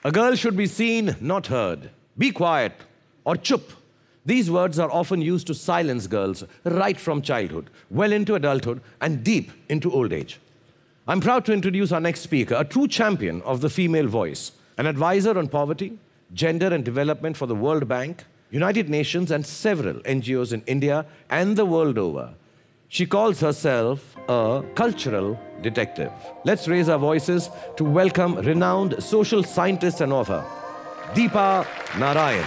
A girl should be seen, not heard. Be quiet or chup. These words are often used to silence girls right from childhood, well into adulthood, and deep into old age. I'm proud to introduce our next speaker, a true champion of the female voice, an advisor on poverty, gender and development for the World Bank, United Nations, and several NGOs in India and the world over. She calls herself a cultural detective. Let's raise our voices to welcome renowned social scientist and author, Deepa Narayan.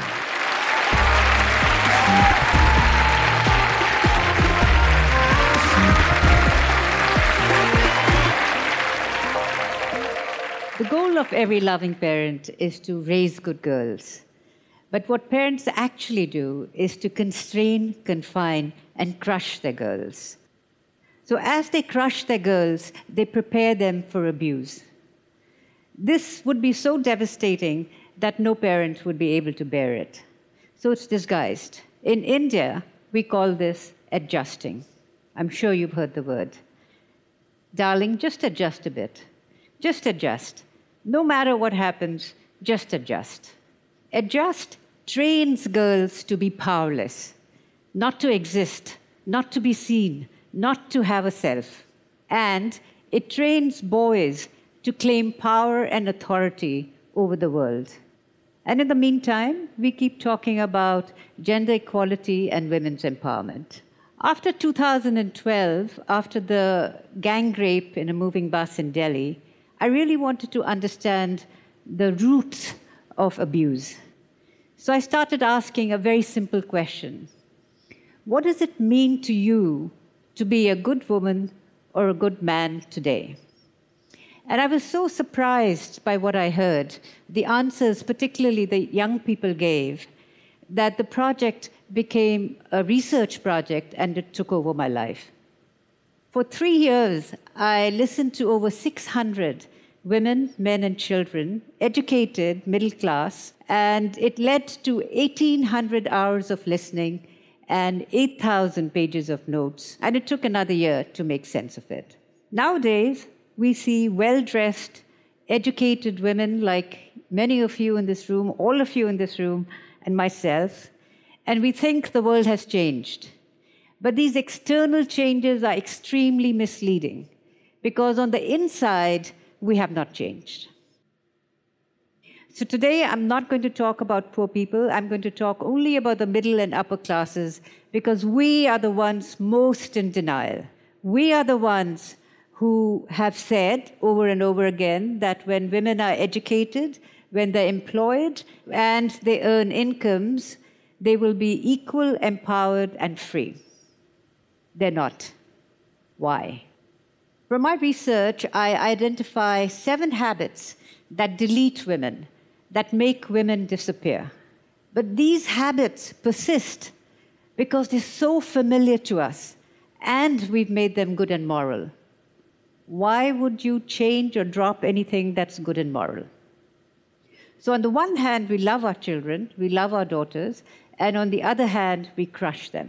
The goal of every loving parent is to raise good girls. But what parents actually do is to constrain, confine, and crush their girls. So as they crush their girls, they prepare them for abuse. This would be so devastating that no parent would be able to bear it. So it's disguised. In India, we call this adjusting. I'm sure you've heard the word. Darling, just adjust a bit. Just adjust. No matter what happens, just adjust. Adjust trains girls to be powerless, not to exist, not to be seen, not to have a self. And it trains boys to claim power and authority over the world. And in the meantime, we keep talking about gender equality and women's empowerment. After 2012, after the gang rape in a moving bus in Delhi, I really wanted to understand the roots of abuse. So I started asking a very simple question. What does it mean to you to be a good woman or a good man today? And I was so surprised by what I heard, the answers particularly the young people gave, that the project became a research project and it took over my life. For 3 years, I listened to over 600 women, men, and children, educated, middle class, and it led to 1,800 hours of listening and 8,000 pages of notes, and it took another year to make sense of it. Nowadays, we see well-dressed, educated women like many of you in this room, all of you in this room, and myself, and we think the world has changed. But these external changes are extremely misleading, because on the inside, we have not changed. So today, I'm not going to talk about poor people. I'm going to talk only about the middle and upper classes, because we are the ones most in denial. We are the ones who have said over and over again that when women are educated, when they're employed, and they earn incomes, they will be equal, empowered, and free. They're not. Why? From my research, I identify 7 habits that delete women, that make women disappear. But these habits persist because they're so familiar to us, and we've made them good and moral. Why would you change or drop anything that's good and moral? So on the one hand, we love our children, we love our daughters, and on the other hand, we crush them.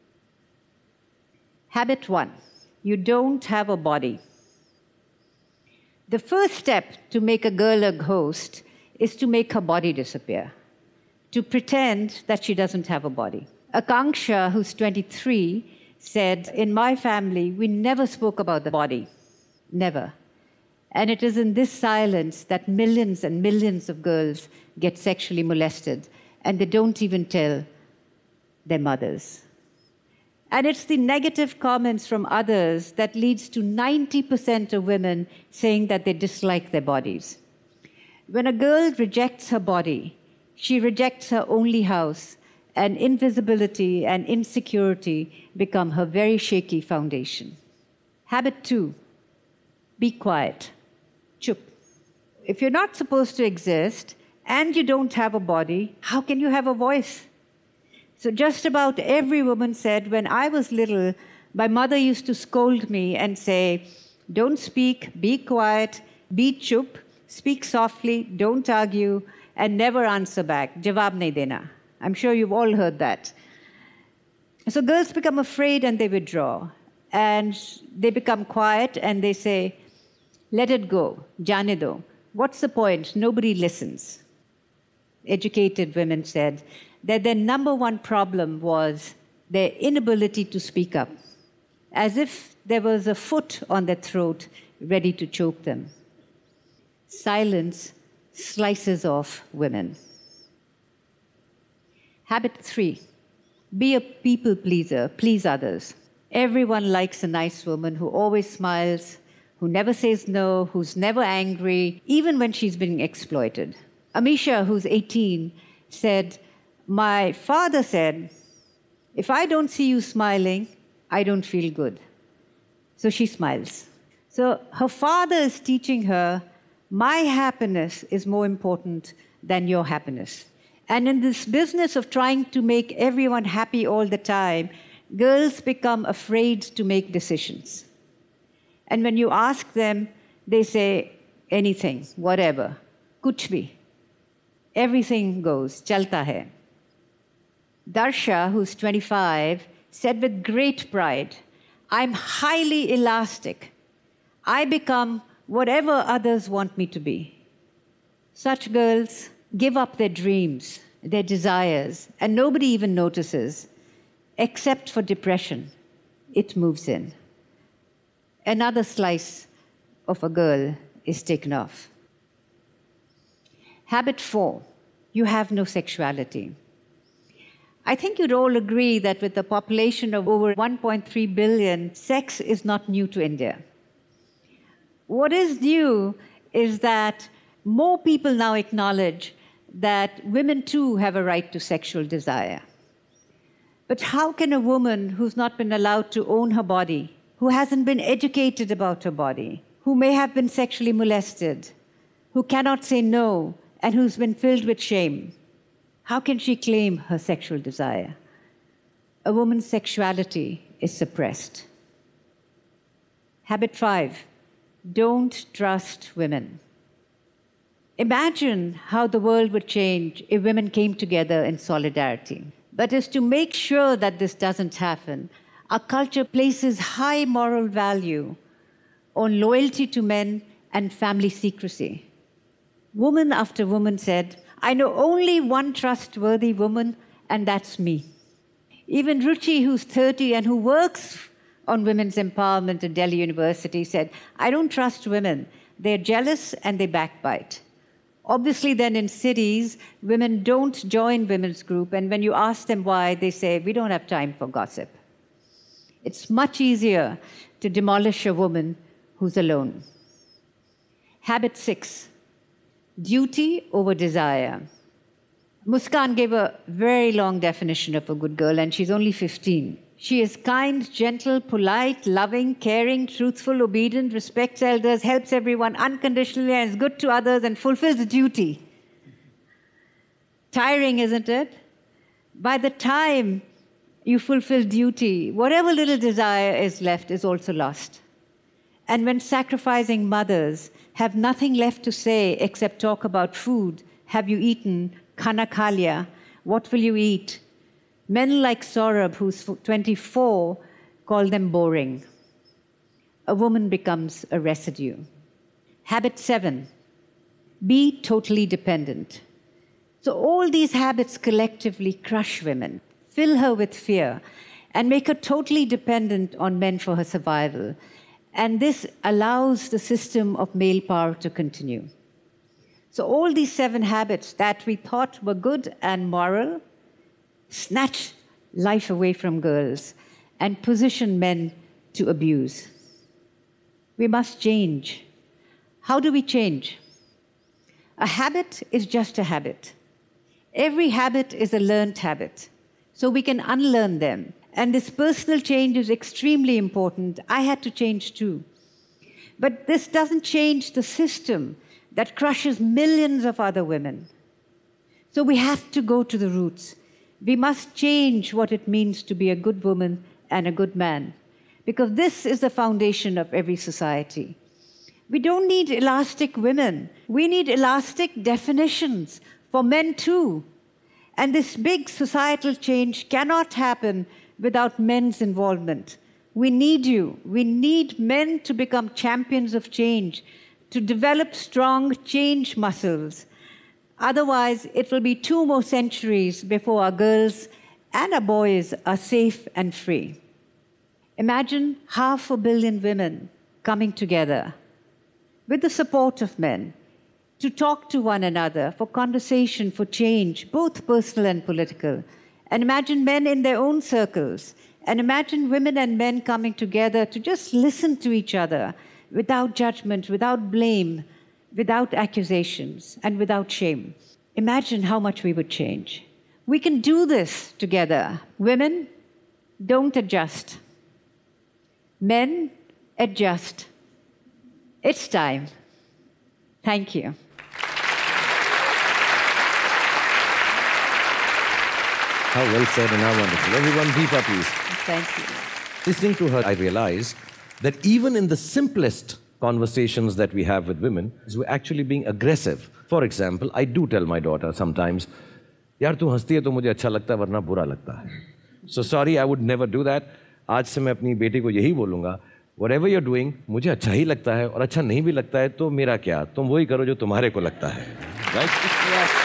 Habit 1, you don't have a body. The first step to make a girl a ghost is to make her body disappear, to pretend that she doesn't have a body. Akanksha, who's 23, said, "In my family, we never spoke about the body, never. And it is in this silence that millions and millions of girls get sexually molested, and they don't even tell their mothers." And it's the negative comments from others that leads to 90% of women saying that they dislike their bodies. When a girl rejects her body, she rejects her only house, and invisibility and insecurity become her very shaky foundation. Habit 2, be quiet. Chup. If you're not supposed to exist and you don't have a body, how can you have a voice? So just about every woman said, when I was little, my mother used to scold me and say, don't speak, be quiet, be chup, speak softly, don't argue, and never answer back. Jawab nahi dena. I'm sure you've all heard that. So girls become afraid and they withdraw. And they become quiet and they say, let it go, jane do. What's the point? Nobody listens. Educated women said that their number one problem was their inability to speak up, as if there was a foot on their throat ready to choke them. Silence slices off women. Habit 3, be a people pleaser, please others. Everyone likes a nice woman who always smiles, who never says no, who's never angry, even when she's being exploited. Amisha, who's 18, said, "My father said, if I don't see you smiling, I don't feel good." So she smiles. So her father is teaching her, my happiness is more important than your happiness. And in this business of trying to make everyone happy all the time, girls become afraid to make decisions. And when you ask them, they say anything, whatever, kuch bhi. Everything goes, chalta hai. Darsha, who's 25, said with great pride, I'm highly elastic. I become whatever others want me to be. Such girls give up their dreams, their desires, and nobody even notices, except for depression. It moves in. Another slice of a girl is taken off. Habit 4, you have no sexuality. I think you'd all agree that with a population of over 1.3 billion, sex is not new to India. What is new is that more people now acknowledge that women too have a right to sexual desire. But how can a woman who's not been allowed to own her body, who hasn't been educated about her body, who may have been sexually molested, who cannot say no, and who's been filled with shame, how can she claim her sexual desire? A woman's sexuality is suppressed. Habit 5, don't trust women. Imagine how the world would change if women came together in solidarity. But as to make sure that this doesn't happen, our culture places high moral value on loyalty to men and family secrecy. Woman after woman said, I know only one trustworthy woman, and that's me. Even Ruchi, who's 30 and who works on women's empowerment at Delhi University, said, I don't trust women. They're jealous and they backbite. Obviously, then in cities, women don't join women's group, and when you ask them why, they say, we don't have time for gossip. It's much easier to demolish a woman who's alone. Habit 6, duty over desire. Muskan gave a very long definition of a good girl, and she's only 15. She is kind, gentle, polite, loving, caring, truthful, obedient, respects elders, helps everyone unconditionally, and is good to others, and fulfills duty. Tiring, isn't it? By the time you fulfill duty, whatever little desire is left is also lost. And when sacrificing mothers have nothing left to say except talk about food, have you eaten? Khana kha liya? What will you eat? Men like Saurabh, who's 24, call them boring. A woman becomes a residue. Habit 7, be totally dependent. So all these habits collectively crush women, fill her with fear, and make her totally dependent on men for her survival. And this allows the system of male power to continue. So all these 7 habits that we thought were good and moral snatch life away from girls and position men to abuse. We must change. How do we change? A habit is just a habit. Every habit is a learned habit, so we can unlearn them. And this personal change is extremely important. I had to change too. But this doesn't change the system that crushes millions of other women. So we have to go to the roots. We must change what it means to be a good woman and a good man, because this is the foundation of every society. We don't need elastic women. We need elastic definitions for men too. And this big societal change cannot happen without men's involvement. We need you. We need men to become champions of change, to develop strong change muscles. Otherwise, it will be 2 more centuries before our girls and our boys are safe and free. Imagine 500 million women coming together with the support of men to talk to one another, for conversation, for change, both personal and political. And imagine men in their own circles. And imagine women and men coming together to just listen to each other without judgment, without blame, without accusations, and without shame. Imagine how much we would change. We can do this together. Women, don't adjust. Men, adjust. It's time. Thank you. How well said and how wonderful. Everyone, Deepa, please. Thank you. Listening to her, I realized that even in the simplest conversations that we have with women, we're actually being aggressive. For example, I do tell my daughter sometimes, यार तू हंसती है तो मुझे अच्छा लगता है वरना बुरा लगता है. So sorry, I would never do that. आज से मैं अपनी बेटी को यही बोलूँगा, whatever you're doing, मुझे अच्छा ही लगता है और अच्छा नहीं भी लगता है तो मेरा क्या? तुम वही करो जो तुम्हारे को लगता है. Right? Yes.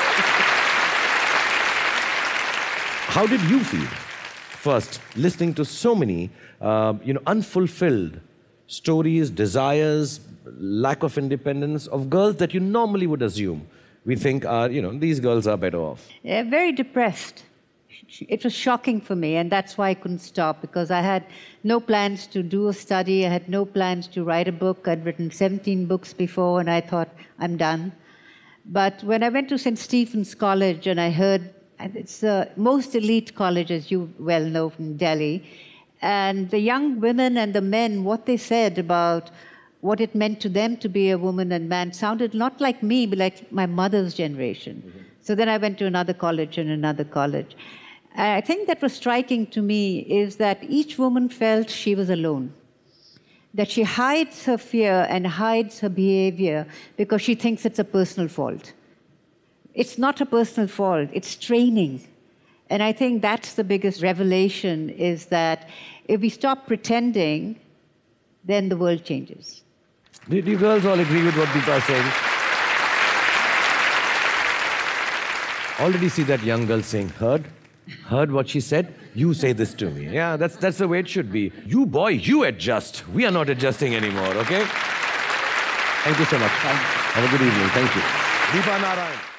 How did you feel first listening to so many, unfulfilled stories, desires, lack of independence of girls that you normally would assume we think are, these girls are better off? Yeah, very depressed. It was shocking for me, and that's why I couldn't stop, because I had no plans to do a study. I had no plans to write a book. I'd written 17 books before, and I thought, I'm done. But when I went to St. Stephen's College and I heard, and it's the most elite college, as you well know, from Delhi, and the young women and the men, what they said about what it meant to them to be a woman and man sounded not like me, but like my mother's generation. Mm-hmm. So then I went to another college and another college. I think that was striking to me is that each woman felt she was alone, that she hides her fear and hides her behavior because she thinks it's a personal fault. It's not a personal fault, it's training. And I think that's the biggest revelation, is that if we stop pretending, then the world changes. Did you girls all agree with what Deepa is saying? Already see that young girl saying, heard what she said? You say this to me. Yeah, that's the way it should be. You boy, you adjust. We are not adjusting anymore, okay? Thank you so much. Have a good evening. Thank you. Deepa Narayan.